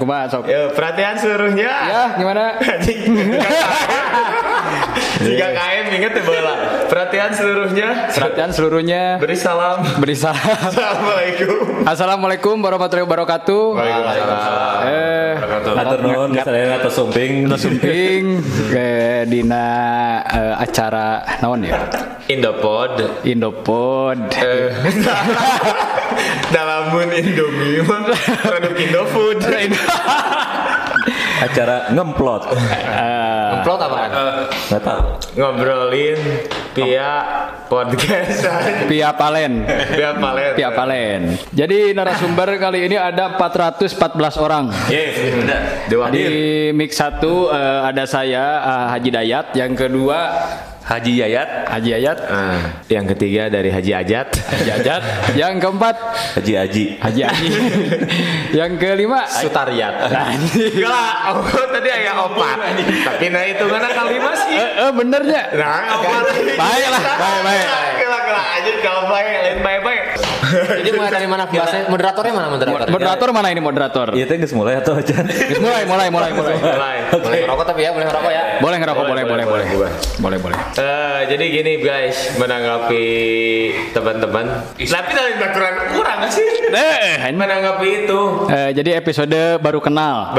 kumaha sok. Ya, perhatian seluruhnya. Ya, gimana? Jika KM ingat ya bola. Perhatian seluruhnya. Beri salam. Assalamualaikum warahmatullahi wabarakatuh. Waalaikumsalam. Atur nuhun sadaya atas sumping ke dina acara naon ya? Indopod. Dalamun Indomie mah produk Indofood. acara ngemplot. Ngemplot apaan? Enggak tahu. Ngobrolin via podcast. Via Palen. Jadi narasumber kali ini ada 414 orang. Di mix 1 ada saya Haji Dayat, yang kedua Haji Yayat. Yang ketiga dari Haji Ajat. Yang keempat Haji Aji. Yang kelima Sutariat. Enggak, tadi ayah opat. Tapi nah itu mana kelima sih? Benernya. Nah, opat. Baik. Kelak aja kalau baik. Jadi mulai dari mana bahasanya? Moderatornya mana moderator? Moderator mana ini moderator? Iya teh geus mulai atau aja? Geus mulai. Boleh ngerokok tapi ya, boleh ngerokok ya. Boleh ngerokok, boleh. Jadi gini guys, menanggapi teman-teman. Tapi dari baturan kurang nggak sih? Menanggapi itu. Jadi episode baru kenal.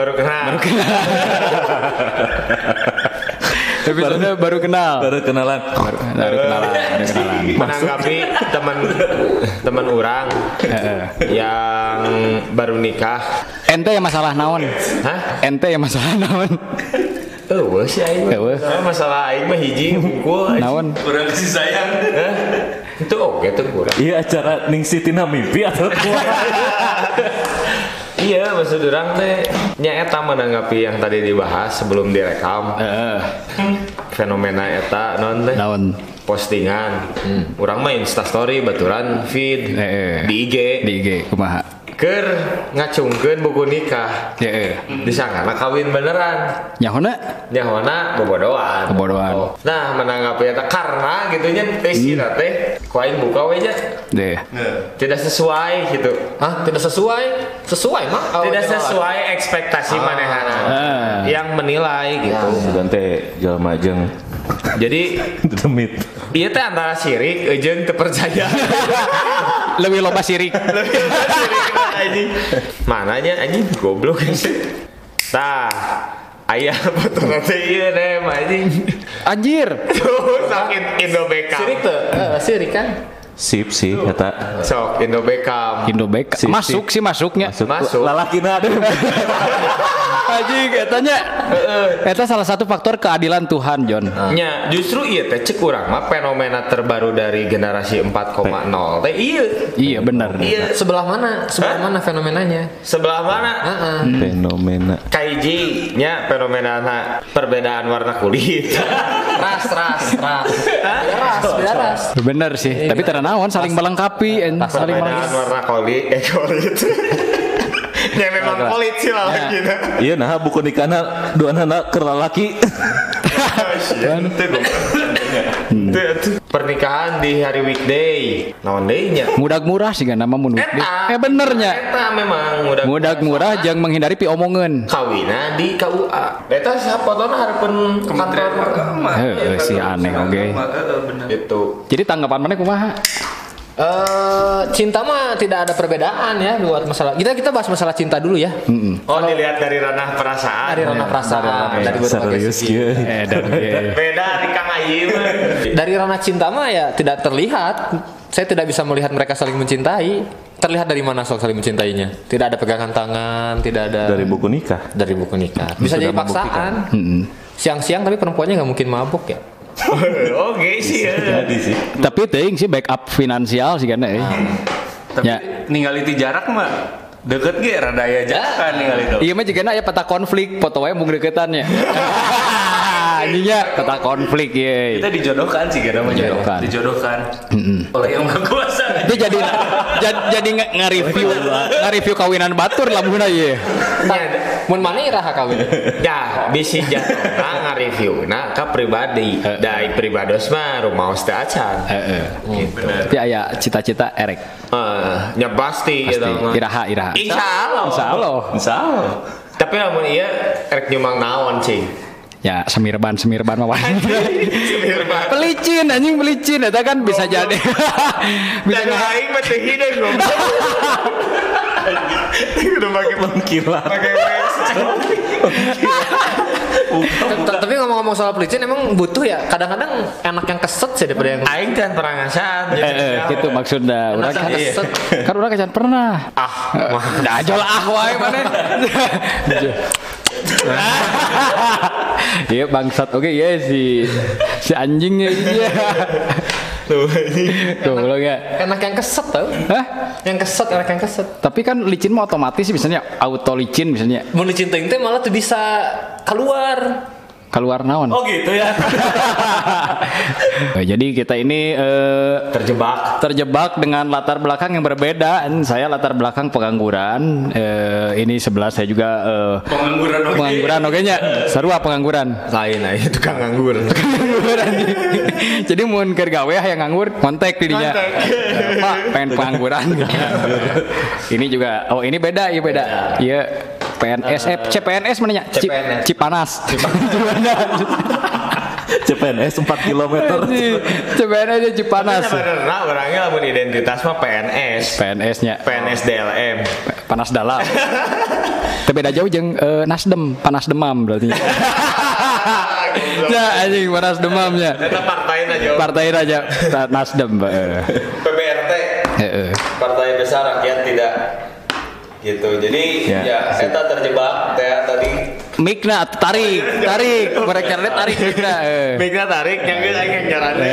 Episode baru kenalan. Menanggapi teman orang yang baru nikah. Ente yang masalah naon? Hah? Ente yang masalah naon? Sih aing. Masalah aing mah hiji hukul. Naon? Kurang kasih sayang. Itu oke tuh kurang. Iya acara ningsitina mimpi atau Iya, maksud orang teh nya eta menanggapi yang tadi dibahas sebelum direkam. Fenomena eta naon postingan. Urang mah Insta story baturan feed di IG kumaha? Keur ngacungkeun buku nikah. Disangana kawin beneran. Nyahona bobodohan. Nah, menanggapi eta karena gitunya teh ku aing buka we nya. Tidak sesuai gitu. Hah? Tidak sesuai? Sesuai mah. Tidak sesuai ekspektasi manehana. Yang menilai gitu. Sugan teh jalma jeung jadi demit. Ieu teh antara sirik jeung teu percaya. Lebih loba sirik. Anjing. Mananya anjing goblok sih. Tah, aya foto teh ieu nem anjing. Anjir. Tuh sakit Indo Beckham. Sirik tuh. Sirik kan? Sip sih kata Sok Indo Beckham. Masuknya. Masuk. Lalakina ada. Anjing etanya. Eta salah satu faktor keadilan Tuhan, John. Nya, justru ieu teh cek urang mah fenomena terbaru dari generasi 4.0 teh ieu. Iya benar. Iya. Sebelah mana fenomenanya? Sebelah mana? Fenomena Kaiji nya fenomena perbedaan warna kulit. Ras. Beda ras. Bener sih, tapi teranawan saling melengkapi, saling Perbedaan warna kulit. Ya memang kulit sih lah gitu. iya nah buku nikahna dua anak keur lalaki. Pernikahan di hari weekday naon deui nya? Mudag murah sih kan nama mun weekday. Benernya. Eta memang mudag murah jeung menghindari piomongeun. Kawina di KUA. Eta sapotona hareupeun kantor agama. Si aneh oge. Itu. Jadi tanggapan mana kumaha? Cinta mah tidak ada perbedaan ya buat masalah. Kita bahas masalah cinta dulu ya. Oh, dilihat dari ranah perasaan. Dari berbagai segi. Beda di Kang Ayi mah. Dari ranah cinta mah ya tidak terlihat. Saya tidak bisa melihat mereka saling mencintai. Terlihat dari mana saling mencintainya? Tidak ada pegangan tangan, tidak ada. Dari buku nikah. Bisa jadi paksaan. Siang-siang tapi perempuannya nggak mungkin mabuk ya. Oke sih ya. Jadi sih. Tapi teuing sih backup finansial sih kan Tapi ningali ti jarak mah deket ge rada aya jarakan ningali itu. Iya mah jigana aya peta konflik, foto wae mung deketannya. Ininya peta konflik ye. Kita dijodohkan sih gara mah dijodohkan. Oleh yang Maha Kuasa. Itu jadi nge-review kawinan batur lamunna ye. Mun maneh iraha kawin. Ya, bisi jatuh nge-reviewna ka pribadi. Da pribados mah rumaos teh acan. Gitu. Tapi aya cita-cita erek. Ya pasti gitu mah. Iraha. Insyaallah. Insyaallah. Tapi lamun iya rek nyumang naon cing. Ya semirban mah wae. Semirban. Pelicin anjing pelicin eta kan bisa jadi. Bisa Dan aing mah teh hideung goblok. Udah pakai Mengkilat. pakai wes. Tapi ngomong-ngomong soal pelicin emang butuh ya. Kadang-kadang enak yang keset sih daripada yang Aing kan pernah ngasaan. gitu maksudnya. Urang kan Iya. kan urang can pernah. Da aja lah wae maneh. Iya bangsat oke iya si anjingnya iya. Tuh lo ya. enak yang keset tau. Hah? Yang keset, enak yang keset. Tapi kan licin mah otomatis sih misalnya auto licin misalnya Mau dicintain teh malah tuh bisa keluar. keluar naon. Oh gitu ya. Jadi kita ini terjebak dengan latar belakang yang berbeda. Saya latar belakang pengangguran. Ini sebelah saya juga pengangguran oke nya. Sarua pengangguran. Lain aja tukang nganggur. Jadi mun keur gawe yang nganggur kontak di dinya. Pak, pengen pengangguran. Ini juga ini beda, iya beda. Iya PNS CPNS mana nya? Cipanas. CPNS 4 km. CPNS aja Cipanas. Sebenarnya orangnya lamun identitas mah PNS. PNS-nya PNS DLM. panas dalam. Tapi beda jauh jeung Nasdem, panas demam berarti. Ya anjing panas demamnya. Eta partain aja. Partai aja Nasdem, PBRT. Partai Besar Rakyat Tidak. Gitu. Jadi ya eta terjebak teh tadi. Mikna tarik mereka tarik mikna. Mikna tarik yang geus aing ngaranna.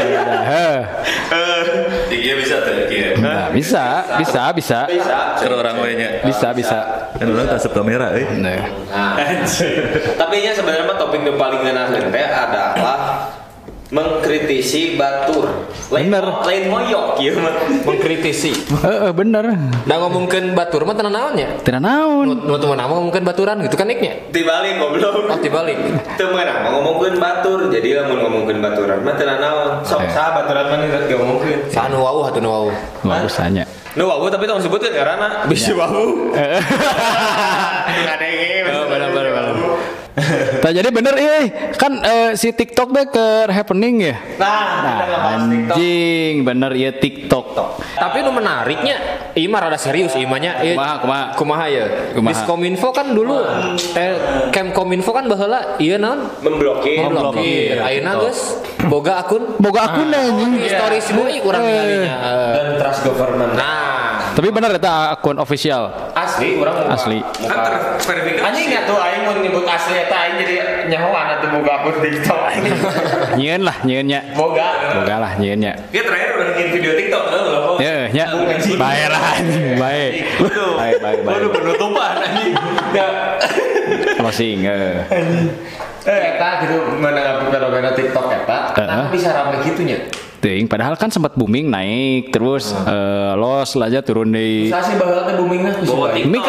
Iya bisa tuh kieu. Nah, bisa. Keur orang we nya. Bisa. Kan orang tasep kamera Nah. Tapi nya sebenarnya topik yang paling ngeunaheun teh adalah mengkritisi batur. Bener. Lain moyok ieu mah. Mengkritisi. Bener. Da ngomongkeun batur mah tenan naon nya? Tidak naon. Nu teman nama ngomongkeun baturan gitu kan niknya. Dibalik goblok. Oh dibalik. Teu meunang ngomongkeun batur. Jadi lamun ngomongkeun baturan mah teu naon. Sok saha baturan mah rek ngomongkeun. Sanu wau hatu nu wau. Bagusanya. Nu wawu tapi tong sebutkeun karana bisi wawu. Ngadenge. Bener. Nah, jadi bener kan si TikTok deh ke happening ya. Nah, anjing bener ya TikTok. Tapi nu menariknya, ieu mah rada serius ieu mah nya. Kumaha ya? Diskominfo kan dulu Kemkominfo kan baheula ieu naon? Memblokir. Ayeuna geus boga akun anjing. Story si bui urang ngalinya. Dan trust government. Tapi bener eta akun official. Asli urang Asli. Kan terverifikasi. Anjing atuh aing mun nyebut asli eta aing jadi nyahoan atuh boga akun TikTok. Nyieun nya. Boga lah nyieunnya. Dia terakhir udah bikin video TikTok loh. Nya. Bae lah anjing, bae. Waduh penutupan anjing. Closing. Eta gitu menanggapi fenomena TikTok eta, kenapa bisa rame gitunya? Ting, padahal kan sempat booming naik terus los aja turun di Saya sih baheula teh boomingna mik.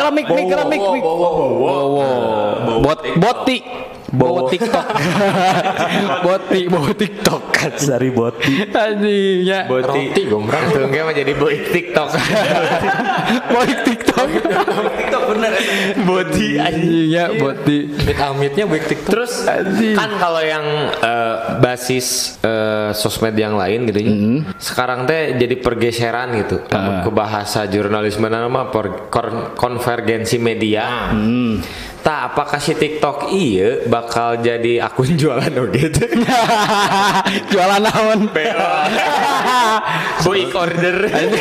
Bawa TikTok. Bawa TikTok kan. Sari boti. Anjingnya. Roti gombrang. Tuh enggak mah jadi boy TikTok. Boy TikTok. TikTok bener. Boti anjingnya boti. Amit-amitnya baik TikTok. Terus kan kalau yang basis sosmed yang lain gitu ya. Sekarang teh jadi pergeseran gitu. Ke bahasa jurnalisme nama konvergensi media. Tak apakah si TikTok iya bakal jadi akun jualan gitu. Jualan naon? Boy order.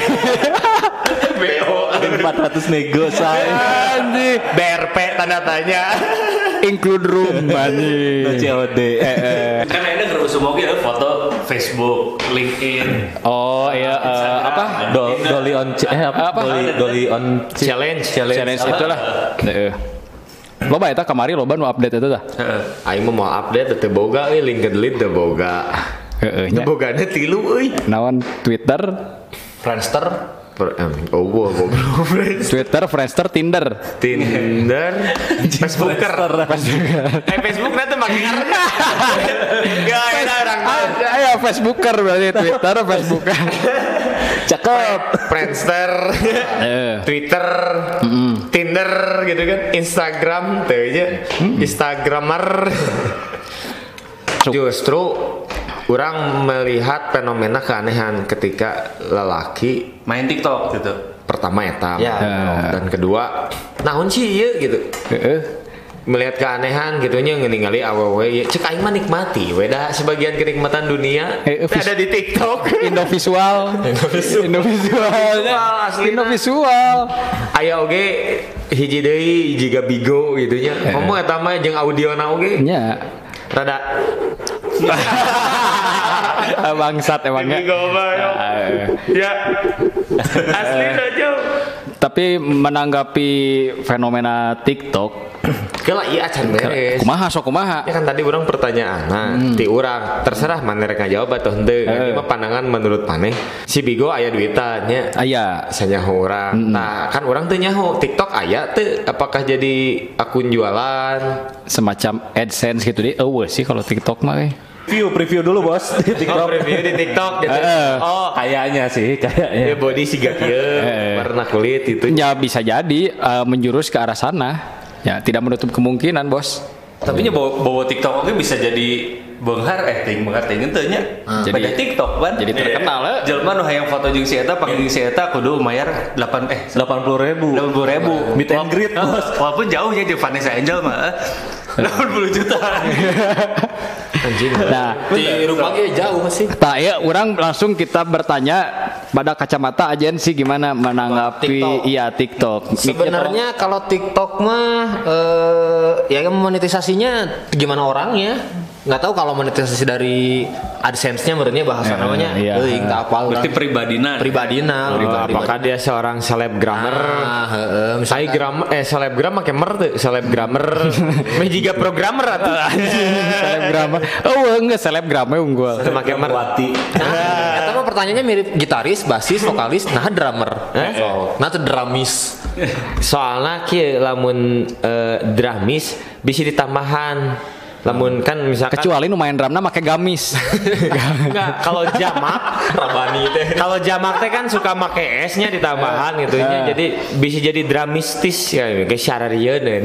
BO 400 nego saya. Anjing. BRP tanda tanya. Include room anjing. COD. Kan ada ngerusuh moge foto Facebook, LinkedIn. Oh iya apa? Dolly on Dolly on Challenge Itulah. Loba eta kamari loba nu update eta tah. Aing mau update teu boga euy LinkedIn teu boga. Heeh Teu bogana 3 euy. Naon Twitter, Friendster. Goblok. Twitter, Friendster, Tinder, Facebooker. Facebook nanti makin ngarep. Gak ada orang. Ayo Facebooker berarti Twitter, Facebooker. Cakep. Friendster, Twitter, Tinder gitu kan, Instagram tuh aja, Instagramer. Justru orang melihat fenomena keanehan ketika lelaki main TikTok gitu. Pertama eta, dan kedua, naon sih ya gitu. Melihat keanehan gitunya ngeningali awewe ya cek aing mah nikmati weda sebagian kenikmatan dunia ada di TikTok. Indovisual aya oge hiji deui jiga bigo gitunya ngomong eta mah jeung audiona oge nya rada bangsat emangnya ya asli aja. Tapi menanggapi fenomena TikTok Kela iya acan beres. Kumaha. Ya kan tadi orang pertanyaan ti urang terserah mana rek ngajawab atau henteu. Ini mah pandangan menurut maneh si Bigo aya duitan nya. Aya sanyaho urang. Nah, kan urang teu nyaho TikTok aya teu apakah jadi akun jualan semacam AdSense gitu deh. Sih kalau TikTok mah Preview dulu bos di TikTok. Preview di TikTok gitu. Kayaknya ya body siga kieu, warna kulit itu. Ya bisa jadi menjurus ke arah sana. Ya tidak menutup kemungkinan bos. Tapi nya bawa TikTok oke bisa jadi beunghar ting teu nya. Pada TikTok kan. Jadi terkenal jelema nu hayang foto jeung si eta pake jeung si eta kudu mayar 80.000. 80.000 meet and greet bos. Walaupun jauhnya jeung Vanessa Angel mah 80 juta. Anjing. Nah, di rumah ge jauh sih. Tah ya urang langsung kita bertanya pada kacamata agensi gimana menanggapi TikTok. Sebenarnya kalau TikTok mah ya monetisasinya gimana orangnya? Nggak tahu kalau monetisasi dari AdSense-nya menurutnya bahasa namanya tak apal. Berarti pribadina. Apakah dia seorang selebgramer? Misalnya selebgram make mer tuh, selebgramer. Meh jiga programmer atuh. Selebgramer. Enggak selebgramnya unggul. Make mer. Eta mah pertanyaannya mirip gitaris, basis, vokalis, nah drummer. Nah tuh drumis. Soalnya kieu lamun drumis bisa ditambahan. Lamun kan misalkan kecuali nu main drumna make gamis. Enggak, kalau jamak rabani teh. Kalau jamak teh kan suka make S-nya ditambahan gitu nya. Jadi bisa jadi dramistis ya kayak syararieun.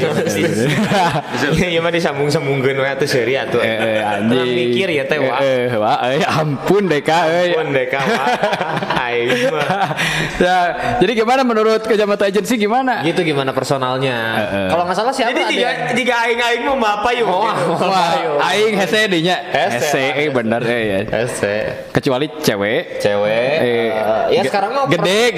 Ya mah disambung-sambungkeun we atuh seuri atuh. Anjing. Mikir ya teh wah. Ampun Deka euy. Ampun Deka wah. Aing mah. Jadi gimana menurut kacamata agensi gimana? Gitu gimana personalnya. Kalau enggak salah siapa? Jadi jika aing mah apa yuk? Aing hese dinya. Hese bener ya. Hese. Kecuali cewek. Ya sekarang mah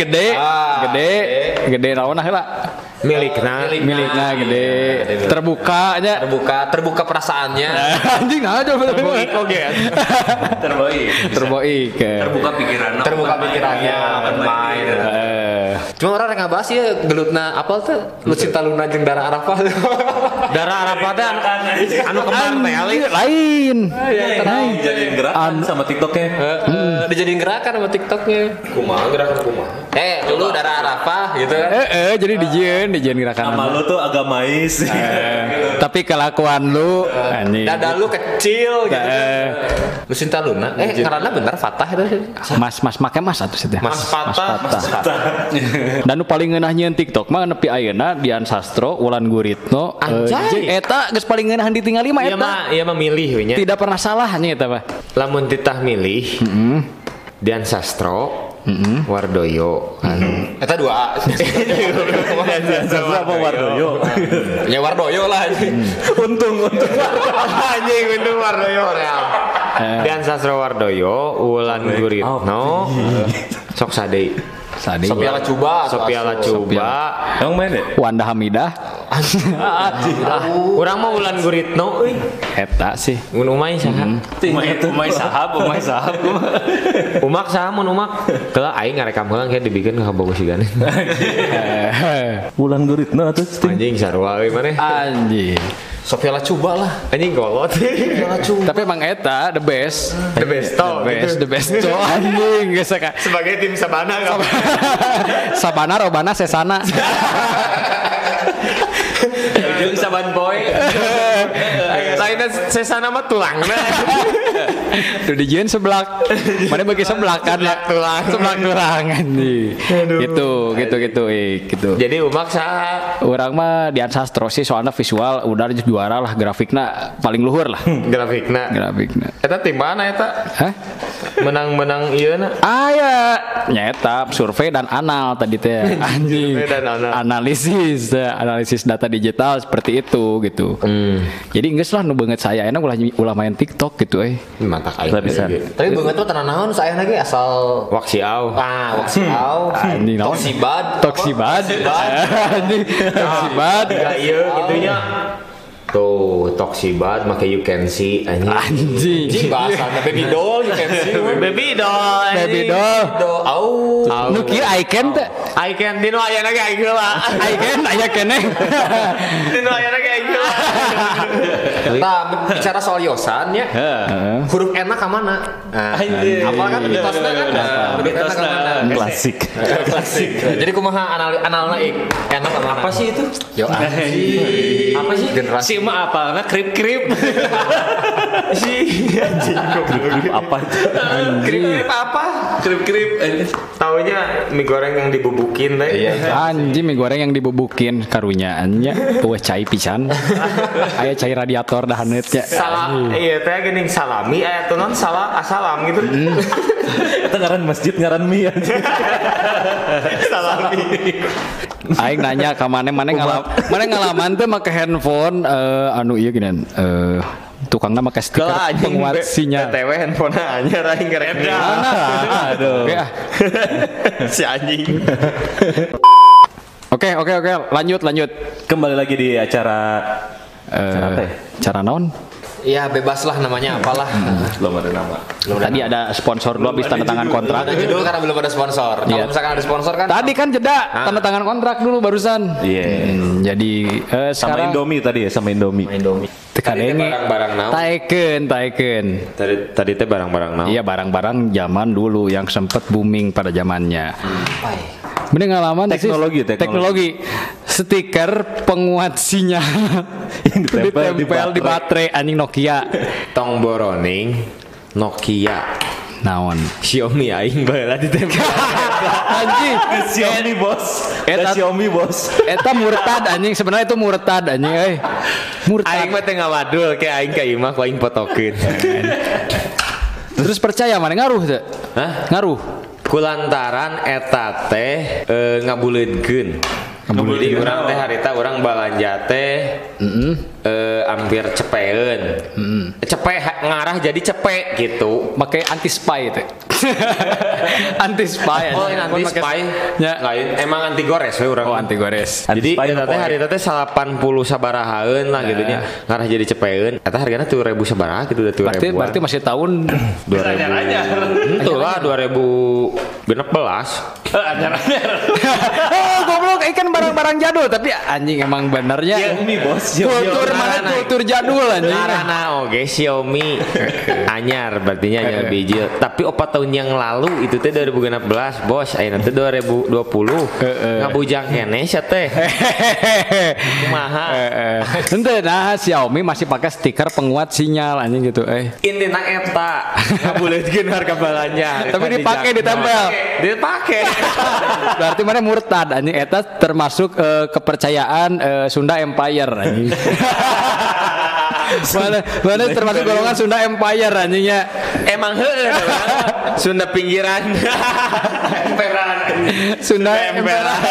gede naon lah. Milikna gede. Terbuka perasaannya. Anjing aja terboik oge. Terboik. Terbuka pikirannya main. Cuma orang yang ngabas ya gelutna apa tuh Lucinta Luna jeung Dara Arafah. Dara Arafah teh anu kembar teh lain. Dijadiin gerakan sama TikToknya. Dijadiin gerakan sama TikToknya. Gerakan kumaha? Dulu Dara Arafah gitu kan. Jadi dijieun gerakan. Nama lu tuh agamais. Tapi kelakuan lu anjing. Dada lu kecil gitu. Lucinta Luna. Karena bener Fatah itu. Mas make mas atuh teh. Mas Fatah. Dan nu paling ngeunah nyieun TikTok mah nepi ayeuna Dian Sastro, Wulan Guritno, eta geus paling ngeunah ditingali mah eta. Iya mah milih we nya. Tidak pernah salah nya eta mah. Lamun titah milih. Dian Sastro, Wardoyo. Eta 2A. Dian Sastro apa Wardoyo? Ya Wardoyo lah. Untung. Anjing untung Wardoyo real. Dian Sastro Wardoyo, Wulan Guritno. Sok sadei. Sophia Lacuba. Emang main deh? Wanda Hamidah. Urang mah Wulan Guritno euy. Eta sih. Mun umay saha? Umay sahab. Umak saha mun umak? Keula aing ngarekam heula kayak dibikeun ka bogo sigan. Wulan Guritno atuh. Anjing sarua euy maneh. Anjing. Sophia Lacuba lah. Anjing kolot. Tapi emang eta the best. The best. Anjing geus sebagai tim Sabana kan. Sabana robana sesana. Jeung saban poe. Lainna sesana mah tulangna. Tuh dijieun seblak. Mana bagi seblak kan ya? Seblak tulangan nih. Gitu. Jadi umak saha? Urang mah Dian Sastro sih soalnya visual udah juara lah, grafikna paling luhur lah. Grafikna. Eta tim mana eta? Hah? Menang ieu na. Ya nyata survei dan anal tadi teh. Anjing. Analisis data digital seperti itu gitu. Jadi geus lah nu beungeut saya enak ulah main TikTok gitu Mantap aing bisa. Tapi beungeut tuh tenan naon saeuna ge asal Waksiau. Waksiau. Toksibad. Ya ieu gitunya. Tuh, Toksibad make you can see anjing bahasana baby doll you can see baby doll. Nu kieu icon teh Icon dino ayana ge aing heula. icon aya keneh Dino ayana ge aing heula. Nah, bicara soal Yosan ya. Huruf N ka mana? Apa kan mitosna kan? Huruf N ka mana? Klasik. Jadi kumaha analna ik? N ka mana? Apa sih itu? Yo anjing. Apa sih? Generasi mah apalna krip-krip. Si anjing Krip apa? krip apa? Krip. Taunya mie goreng yang dibubukin teh. Anjing mie goreng yang dibubukin karunyaannya eueuh cai pisan. Aya cai radiator dah haneutnya. Salah iya teh geuning salami aya tuh non asalam gitu. Eta ngaran masjid ngaran mie anjing. Salami. Aing nanya ka mana ngalaman teh make handphone anu ieu geunan tukangna make stiker penguat sinyal. TW handphone anyar aing ngerek. Aduh. Si anjing. Oke, lanjut. Kembali lagi di acara cara naon? Ya bebas lah namanya apalah. Belum ada nama. Tadi ada sponsor dulu habis tanda tangan kontrak. Ada judul karena belum ada sponsor. Kalau misalkan ada sponsor kan. Tadi kan jeda tanda tangan kontrak dulu barusan. Iya. Jadi sama sekarang Indomie tadi ya, sama Indomie. Tekadenge barang-barang naon? Taeken. Tadi teh barang-barang naon? Iya, barang-barang zaman dulu yang sempat booming pada zamannya. Mending ngalaman teknologi. Stiker penguat sinyal yang ditempel di baterai anjing Nokia. Tong boroning Nokia. Naon? Xiaomi aing baheula ditempel. Anjing, Xiaomi bos. Eta murtad anjing, sebenarnya itu murtad anjing Murtad. Aing mah teh ngawadul ke aing ka imah ku aing fotokeun. Terus percaya mana ngaruh teh? Hah? Ngaruh. Kulantaran eta teh ngabuleudkeun. Jadi urang teh harita urang balanja teh hampir cepeun. Cepek ngarah jadi cepek gitu. Pakai anti spy teh. Anti spy. Oh, anti spy. Ya. Lain emang anti gores we urang. Oh, anti gores. Jadi eta teh harita teh 80 sabarahaeun lah gitu nya. Ngarah jadi cepeun. Eta hargana 3000 sabaraha gitu udah 3000. Berarti masih tahun 2000. Itulah 2016. Anyar-anyar. Oh, goblok ikan barang-barang jadul tapi anjing emang benernya Xiaomi bos. kultur jadul anjing. Karena oke Xiaomi anyar berarti nya biji. Tapi 4 tahun yang lalu itu teh 2016 bos. Ayeuna teh 2020. Ngabujang keneh sia teh. Kumaha? Henteu nah Xiaomi masih pakai stiker penguat sinyal anjing gitu Intina eta ngabuleutkeun harga balanja. Tapi dipakai ditempel. Dipakai. Berarti mana murtad anjing eta termasuk kepercayaan Sunda Empire anjing. Mana termasuk golongan Sunda Empire anjingnya. Emang heueuh Sunda pinggiran. Emperan. Sunda Emperan.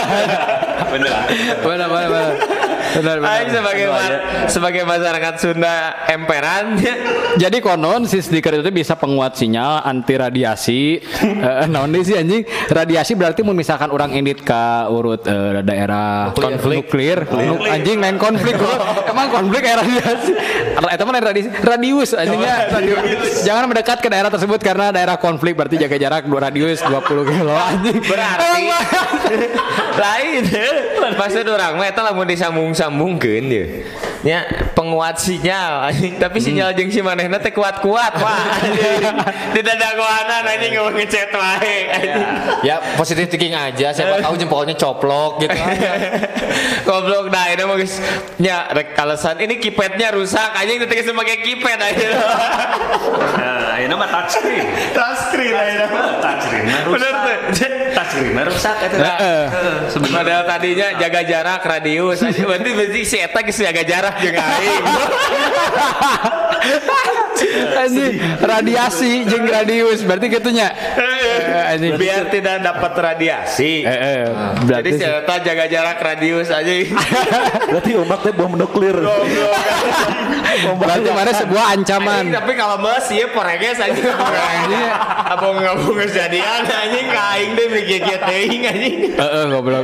Benar. Aing sebagai masyarakat Sunda emperan. Jadi konon si stiker itu bisa penguat sinyal anti radiasi. Naon sih anjing? Radiasi berarti misalkan orang indit ka urut daerah nuklir. Anjing lain konflik. Emang konflik kayak radiasi. Eta mah radius anjingnya. Jangan mendekat ke daerah tersebut karena daerah konflik berarti jaga jarak radius 20 kilo anjing. Berarti lain. Maksud orang mah eta lamun disambung-sambungkeun ye. Nya penguat sinyal anjing, tapi sinyal jeung si manehna teh kuat-kuat wah. Tidak ada kuanan anjing ngomong ngechat wae anjing. Ya positive thinking aja, siapa tahu jempolnya coplok gitu aja. Goblok dah ini mah geus nya rek alasan ini keypadnya rusak anjing teh geus make keypad aja. Nah, ayeuna Touchscreen aja. Bener tuh. Touchscreen rusak itu. Sebenarnya tadinya jaga jarak radius. Berarti si eta geus jaga jarak jeung aing. Anjing radiasi jeung radius berarti gitunya. Biar tidak dapat radiasi. Berarti jadi si eta jaga jarak radius aja. Berarti umat teh bom nuklir. berarti mana sebuah ancaman. Tapi kalau mas ieu poreges aja. Abang kejadian anjing ka aing teh mikir-mikir teuing anjing. Goblok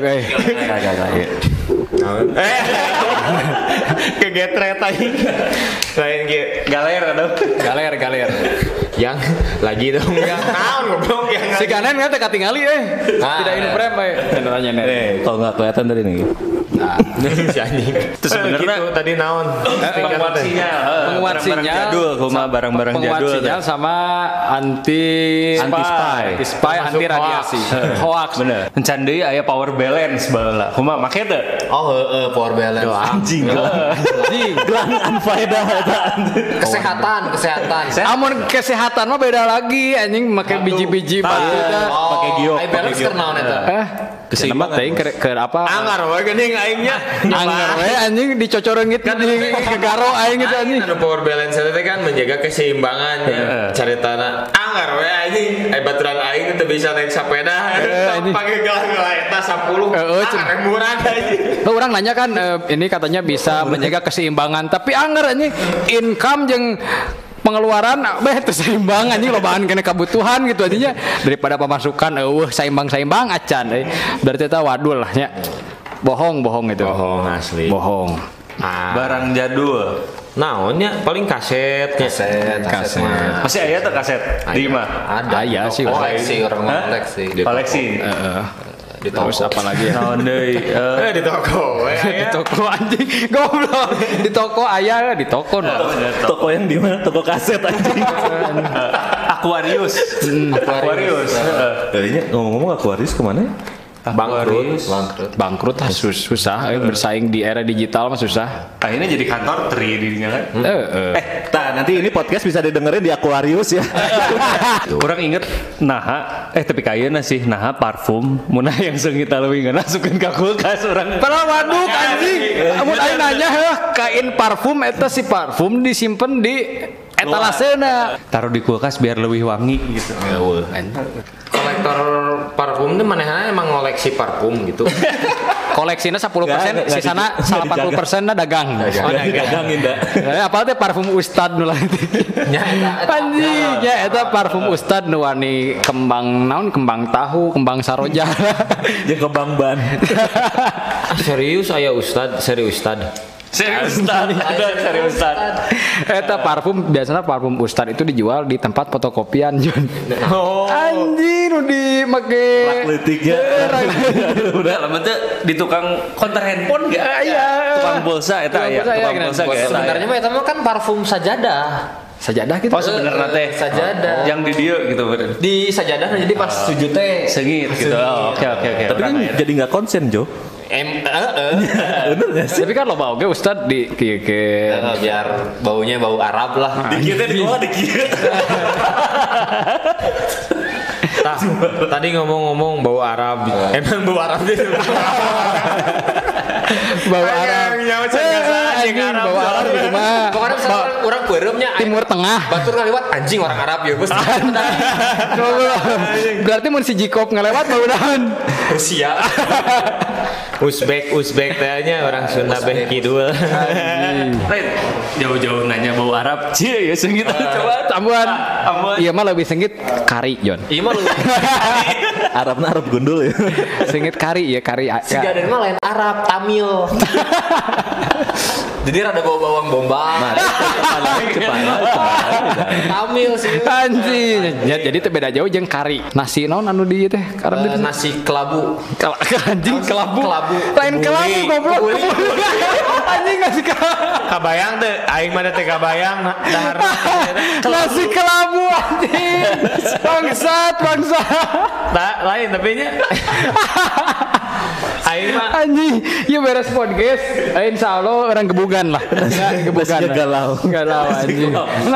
Kegetret anjing. Lain galer aduh. Galer. Yang lagi dong yang naon goblok yang si kanan kan teka tingali tidak in frame tanya kalau nggak kelihatan tadi nih si anjing terus sebenarnya tadi naon penguat sinyal jadul kuma barang-barang jadul penguat sinyal sama anti spy anti radiasi hoax bener encan deui aya power balance baheula kuma make teu power balance anjing gelang anfaedah kesehatan amun kesehatan mah beda lagi anjing make biji-biji batunya pakai giok balance kernaon eta keseimbangan teuing ke apa anggar we geuning aingnya anggar we anjing dicocoreungit di gegaro aing gitu anjing power balance itu kan menjaga keseimbangan caritana anggar we anjing baturan aing teu bisa naik sepeda pakai gelang eta 10 murah anjing orang nanya kan ini katanya bisa menjaga keseimbangan tapi anggar anjing income jeung pengeluaran seimbang anjing lobaan kena kebutuhan gitu anjingnya daripada pemasukan seimbang acan berarti eta wadul lah nya bohong itu bohong asli bohong barang jadul naonnya paling kaset masih aya tuh kaset di mah ada ya sih koleksi orang koleksi terus apa lagi naon deui di toko di toko anjing goblok di toko aya di toko toko yang di mana toko kaset anjing Aquarius tadinya ngomong-ngomong Aquarius kemana bangkrut susah bersaing di era digital mah susah akhirnya jadi kantor tri dirinya kan nanti ini podcast bisa didengerin di Aquarius ya kurang inget tapi kayaknya sih parfum munah yang seungit leuwih ngasupkeun ka kulkas urang padahal waduk anjing amun aing nanya kain parfum eta si parfum disimpen di etalasena taruh di kulkas biar lebih wangi gitu kolektor parfum itu manehna emang ngoleksi parfum gitu koleksinya 10% sisana 80% dagang dagangin dah apa teh parfum ustad nu lain anjing nya eta parfum ustad nu wani kembang tahu kembang saroja jeung kembang ban serius aya serius ustad eta parfum biasanya parfum ustad itu dijual di tempat fotokopian Jun anjing nu di make letiknya udah lama tuh di tukang konter handphone gak tukang pulsa eta aya tukang pulsa gak sebenarnya mah eta mah kan parfum sajadah gitu sebenarnya teh sajadah yang di dia gitu di sajadah jadi pas sujud teh sengit gitu oke tapi kan jadi nggak konsen Jo bener gak sih? Tapi kan lo bau Ustad di biar baunya bau Arab lah. Dikitnya di bawah dikit. Tadi ngomong-ngomong bau Arab. Emang bau Arab itu. Bau Arab. Bau Arab itu mah. Pokoknya orang beureumnya Timur Tengah. Batur ngaliwat anjing orang Arab ya Gus. Berarti mun si Jikob ngelewat mudah-mudahan Rusia. Uzbek tanya orang Sunda beh kidul. Jauh-jauh nanya bau Arab. Cie ya sengit coba tambuhan. Iya mah lebih sengit kari Jon. Iya mah lebih Arab gundul ya. Sengit kari ya kari. Si Gaden mah lain Arab Tamil. Jadi rada bawa bawang bombay. Tamil sih. Anjing. Jadi teh beda jauh jeung kari. Nasi naon anu di teh? Nasi kelabu. Anjing kelabu. Lain kelabu goblok. Anjing nasi kelabu. Kabayang teh aing mah teh kabayang dahar. Nasi kelabu kelabu anjing. Bangsat. Tak lain tapi nya. Aing mah Anjing, ya beres podcast. Insyaallah orang gebugan lah. Gebugan. galau Anjing.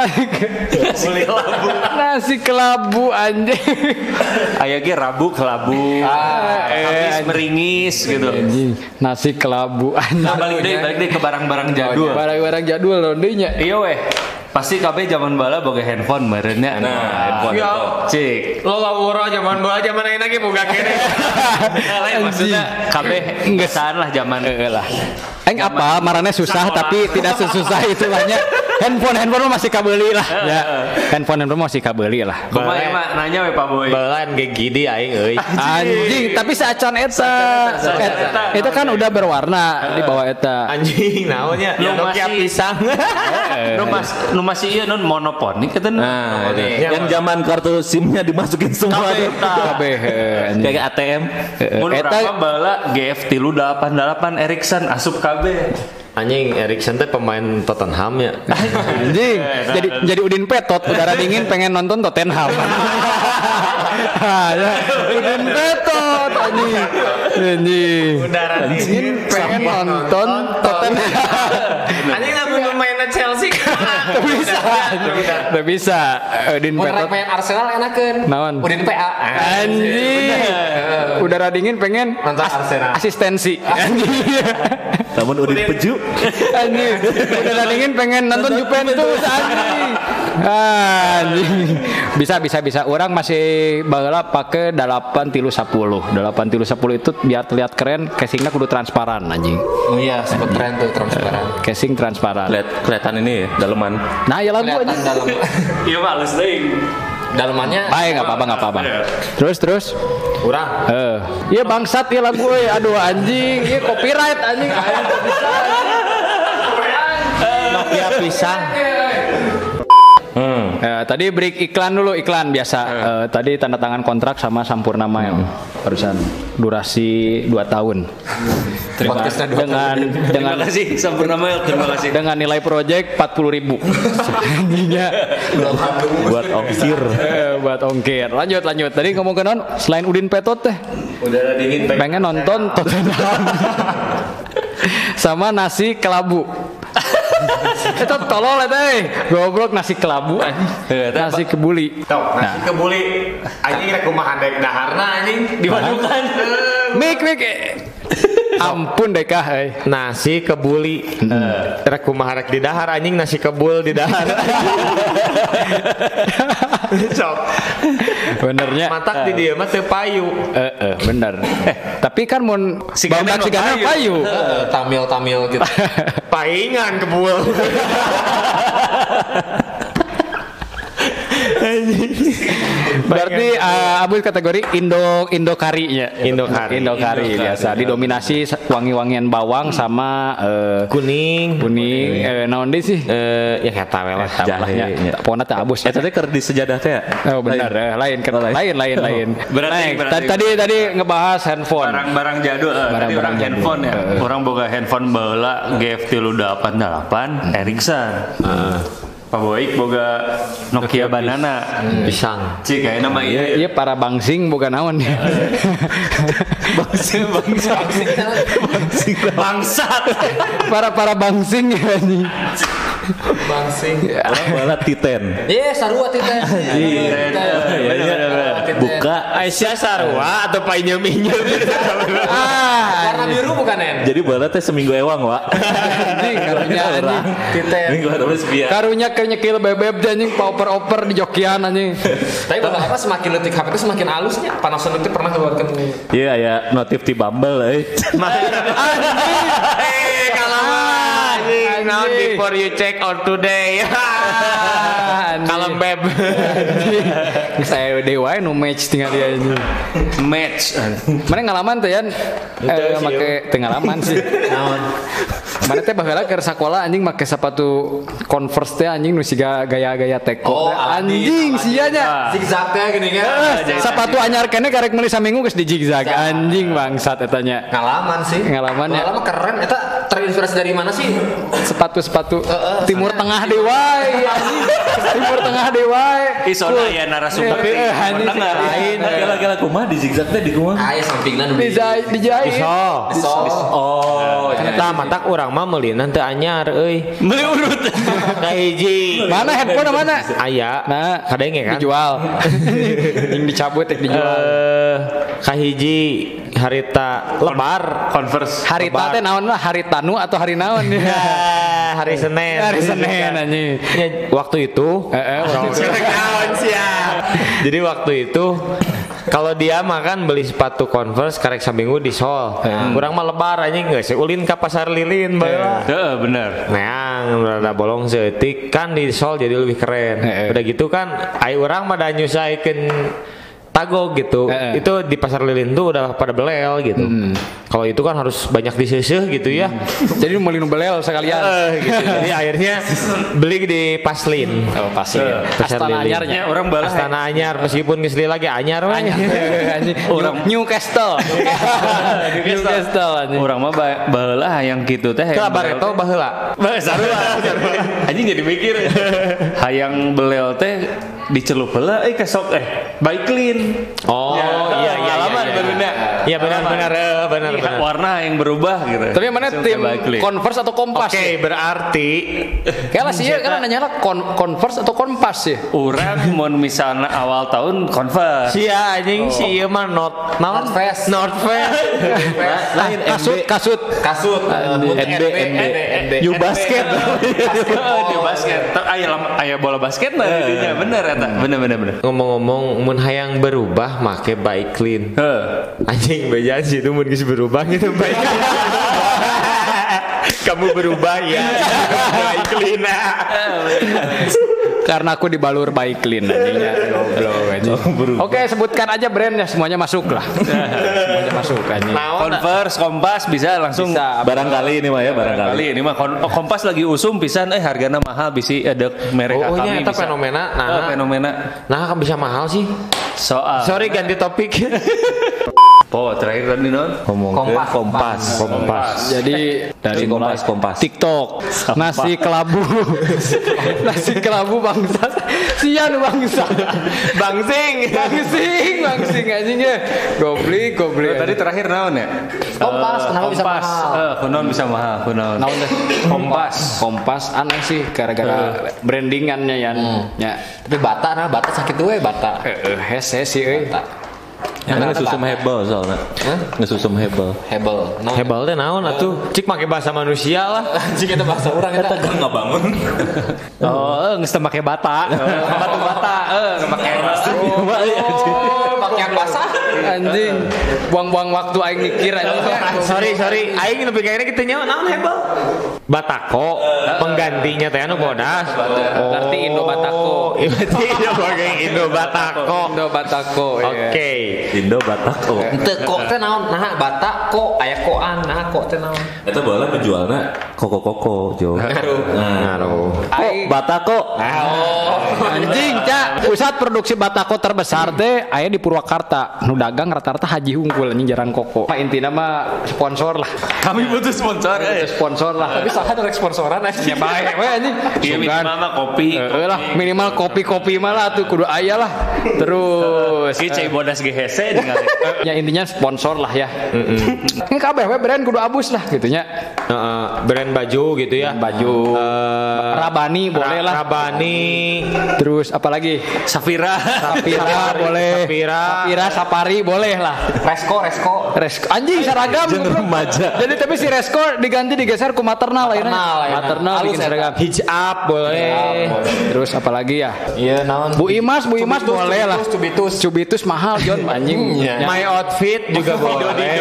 Nasi kelabu anjing. Aya ge rabu kelabu. Kamis meringis gitu. Anjing, nasi kelabu anjing. Nah, balik deh ke barang-barang jadul. Barang-barang jadul loh dinya. Iya weh. Pasti kabeh zaman bala boga handphone meureunnya. Handphone. Ya. Cik. lo lawura zaman bola zaman ayeuna ge boga kene. Lain maksudnya kabeh ngesan lah zaman lah. Aing apa marane susah tapi tidak sesusah itulahnya. Handphone masih kabeli lah. Ya. Handphone masih kabeli lah. Kumaha mah nanya we Pak Boy. Balan ge gidi aing euy. Anjing, tapi seacan eta. Itu kan udah berwarna di bawah eta. Anjing naonnya? Nokia pisang. Nu masih ieu non monoponik eta. Nah, yang zaman kartu SIM-nya dimasukin semua Kabeh kayak ATM. Mun urang bala GF 388 Ericsson asup kabeh. Anjing Erikson teh pemain Tottenham ya. Anjing, jadi Udin Petot, udara dingin pengen nonton Tottenham. Udin Petot anjing. Udara dingin pengen nonton Tottenham. Anjing lamun pemainna Chelsea. Tidak bisa. Udin Petot. Main Arsenal enakeun. Naon? Udin PA. Anjing. Udara dingin pengen nonton Arsenal. Asistensi. Anjing. Namun Udin Peju. Anjing. Udara dingin pengen nonton Juventus anjing. Anjing. Bisa. Orang masih baheula pakai 8-10. 8-10 itu biar terlihat keren, casingnya kudu transparan anjing. Oh iya, sempat tren tuh transparan. Casing transparan. Kelihatan ini ya, daleman. Nah, ya lagu aja. Dalam. Iya Pak, halus deui. Dalamannya. Baik, enggak apa-apa. Terus. Urang. Iya bangsat ya lagu euy. Aduh anjing, iya copyright anjing. Bisa. Nokia pisang. Tadi break iklan dulu, iklan biasa. Tadi tanda tangan kontrak sama Sampurna Mail. Barusan durasi 2 tahun. Dengan Terima kasih Sampurna Mail, terima kasih. dengan nilai project 40.000. Anjingnya. Buat ongkir. Lanjut. Tadi ngomong ke non, selain Udin Petot teh. Udara dingin Pengen nonton Tottenham. Sama nasi kelabu. Itu tolol eta goblok nasi kelabu nasi kebuli. Nasi kebuli anjing rek kumaha dek daharna anjing dimadukan. Mik ampun deh kah Nasi kebuli rek kumaha rek di dahar anjing nasi kebul di dahar. Sok benernya matak di dieu mah teu payu. Bener. Tapi kan mun badak sigana payu. Tamil gitu. Paingan kebul. Berarti Abul kategori Indo karinya. Indo kari biasa. Didominasi wangi-wangian bawang sama kuning. Naon deui sih? Ya kata we lah jahe. Pokona teh abus. Eta teh keur di sejadah teh. Oh benar, lain. Berarti Tadi ngebahas handphone. Barang-barang jadul. Tadi orang handphone ya. Orang boga handphone baheula GF 388 Ericsson. Pak Boik boga Nokia Banana pisang. Cik kayak nama Iya para bangsing bukan naon ya. bangsat. Para bangsing ya nih. Bangsing. Orang balat Titen. Iya, sarua Titen. Buka Aisyah sarua atau painyem-nyem. Warna biru bukan En? jadi balat teh seminggu ewang, Wak. Anjing karunya anjing. Titen. Minggu terus biar. Karunya nyekil bebeb anjing oper-oper di jokian anjing. Tapi apa semakin letik HP itu semakin halusnya. Panasonic itu pernah keluarkan. Iya, ya notif di Bumble Now before you check out today. Kalem beb. Saya dewa nu match tinggal dia ini. Match. Mana ngalaman teh yan? Make pengalaman sih. Mana teh baheula keur sakola anjing make sepatu Converse teh anjing nu siga gaya-gaya teko. Anjing sia nya. Zigzag teh gini kan. Sepatu anyar keneh karek meuli saminggu geus di zigzag. Anjing bangsat eta nya. Ngalaman sih. Ngalaman ya. Ngalaman keren eta terinspirasi dari mana sih? Sepatu Timur Tengah Dewai. Timur Tengah Dewai. Isona ya narasumber. Tapi tengah. Lain kala kumaha di zigzag teh di kumaha? Aya sampingna nu dijahit. Oh, Tah matak urang mah meulina teu anyar euy. Beli urut. Ka hiji. Mana handphone mana? Aya. Nah, Kadenge kan? dijual. Yang dicabut dijual. Ka hiji harita lebar Converse. Harita teh naon lah? Hari Tanu atau hari naon? hari Senin. Hari Senin anjing. Ya, waktu itu jadi waktu itu kalau dia makan beli sepatu Converse karek saminggu di Sol. Kurang mah lebar anjing geus ulin ka pasar lilin bae. Heeh, bener. Neang rada bolong seutik kan di Sol jadi lebih keren. Udah gitu kan ai urang mah da nyusaikeun tagog gitu. Itu di pasar lilin tuh udah pada belel gitu. Kalau itu kan harus banyak diseseh gitu ya. Jadi mau belel sekalian. Gitu. Jadi akhirnya beli di Paslin. Oh, Paslin. Pasar Astana lilin. Anyarnya. Orang balas Astana Anyar meskipun geus lagi anyar we. Orang Newcastle. Newcastle anjing. Orang mah baheula hayang kitu teh. Ka Bareto baheula. Sarua. Anjing jadi mikir. Hayang belel teh dicelup heula kesok baik clean. Oh iya pengalaman bener. Iya benar. Warna yang berubah gitu. Tapi mana tim Converse atau Kompas? Oke, berarti kayaknya sih kan nanya Converse atau Kompas sih. Urang mun misalnya awal tahun Converse. sia anjing si ieu mah North Face. Lain kasut. NB. You basket. Di basket. Aya bola basket mah didinya bener eta. Bener. Ngomong-ngomong mun hayang berubah make bike clean. Anjing bejaan sih itu mun geus berubah gitu bike. Kamu berubah ya. Bike clean. Karena aku dibalur baik clean anjingnya. Goblok anjing. Oke, sebutkan aja brandnya semuanya masuk lah. Semuanya masuk anjing. Converse, Kompas bisa langsung. Bisa. Barangkali ini mah ya barangkali. Ini mah Kompas lagi usum pisan hargana mahal bisi ada merek Oh, kami itu bisa. fenomena. Fenomena. Nah, kan bisa mahal sih. Soal. Sorry ganti topik. Terakhir tadi non ngomong Kompas. Jadi Dari Kompas. TikTok nasi kelabu bangsa sian bangsa bangsing anjingnya goblik Tadi terakhir naon ya? Kompas, kenapa bisa mahal? Kunaon bisa mahal, kunaon. naon deh Kompas aneh sih gara-gara brandingannya ya. Tapi bata sakit we bata. Hese sih euy. Karena ngesusum hebel soalnya. Ngesusum hebel. Hebel teh naon atuh? Cik make bahasa manusia lah. Anjing eta bahasa urang eta. Enggak bangun. Oh, geus teu make bata. Batu bata, make pakaian basah. Anjing. Buang-buang waktu aing mikir anjing. Sorry. Aing lebih kayaknya kita nyawa naon hebel? Batako, penggantinya teh anu bodas. Berarti Indo Batako. Berarti Indo Batako. Oke. Indo Batako. Teu kok teh naon? Nah, bata kok aya koan, nah kok teh naon? Itu bola penjualnya koko Jo. Ngaruh. Batako. Anjing, Cak. Pusat produksi batako terbesar teh aya di Purwakarta. Nu dagang rata-rata haji unggul anjing jarang koko. Intina mah sponsor lah. Kami butuh sponsor. Sponsor lah. Tapi saha ada sponsoran Ya bae we anjing. Iya minimal mah kopi. Lah minimal kopi mah lah tuh kudu aya lah. Terus Ieu cai bodas ge hese ningali. ya intinya sponsor lah ya. Ini kabeh we brand kudu abus lah gitunya. Brand baju gitu ya. Baju Rabani boleh lah. Rabani. Terus apalagi? Safira boleh. Safira, Safari boleh lah. Resko. Anjing seragam. Remaja. Jadi tapi si Resko diganti digeser ke maternal akhirnya. Maternal bikin seragam. hijab boleh. Terus apalagi ya? Iya naon? Bu Imas boleh lah. Cubitus mahal John anjing. My outfit juga boleh.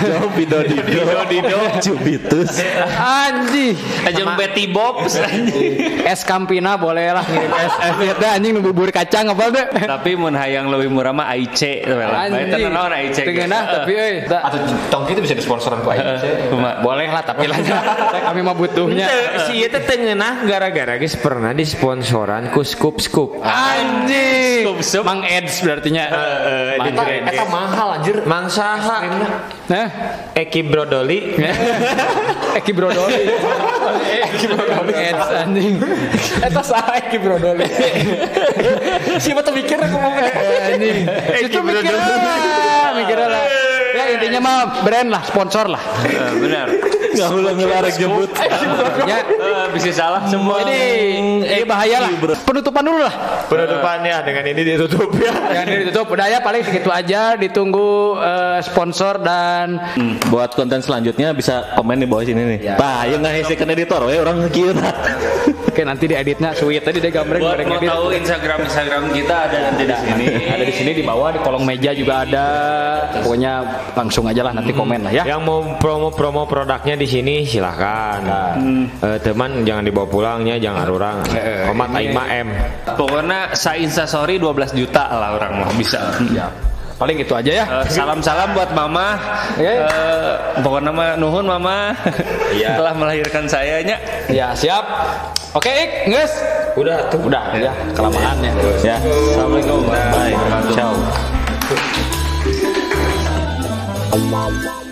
Dido. Cubitus. Anjing. Ajeng Betty Bob anjing. Es Campina boleh lah ngirim es dah anjing nu bubur kacang apa teh. Tapi mun hayang leuwih murah mah Aice lah. Bae teh naon Aice. Tengenah tapi euy. Atau tong itu bisa disponsoran ku aing. Boleh lah tapi lah kami mah butuhnya. Si ieu teh teu ngeunah gara-gara geus pernah disponsoran ku Scoop. Anjing. Mang Eds berarti nya. Eta mahal anjir. Mang saha? Nah, Eki Brodoli. Eki Brodoli. Eds anjing. Eta saha Eki Brodoli. Siapa tuh mikir aku mau anjing. Itu mikir lah. Ya intinya mah brand lah, sponsor lah. Benar. Enggak ulang ngelarang jemput. Ya, Bisa salah semua. ini bahaya lah. Penutupan dulu lah. Penutupannya dengan ini ditutup ya. Yang ini ditutup. Udah ya paling segitu aja. Ditunggu sponsor dan Buat konten selanjutnya bisa komen di bawah sini nih. Ya. Bah, yang ngehesikeun editor we orang kieu tah. Oke nanti dieditnya sweet tadi dia gambar Buat mau edit. tahu Instagram kita ada nanti di sini. Ada di sini di bawah di kolong meja juga ada. Pokoknya langsung aja lah nanti komen lah ya. Yang mau promo produknya di sini silahkan. Teman jangan dibawa pulangnya, jangan arurang. Komat aing mah M. Pokoknya sa Instastory 12 juta lah orang mah bisa. Ya. Paling itu aja ya. Salam-salam buat mama. Pokoknya mah nuhun mama. Telah melahirkan saya nya. Ya siap. Oke, Ik, nges. Udah tuh. Udah ya, kelamaan ya. Ya. Assalamualaikum. Bye. Ciao.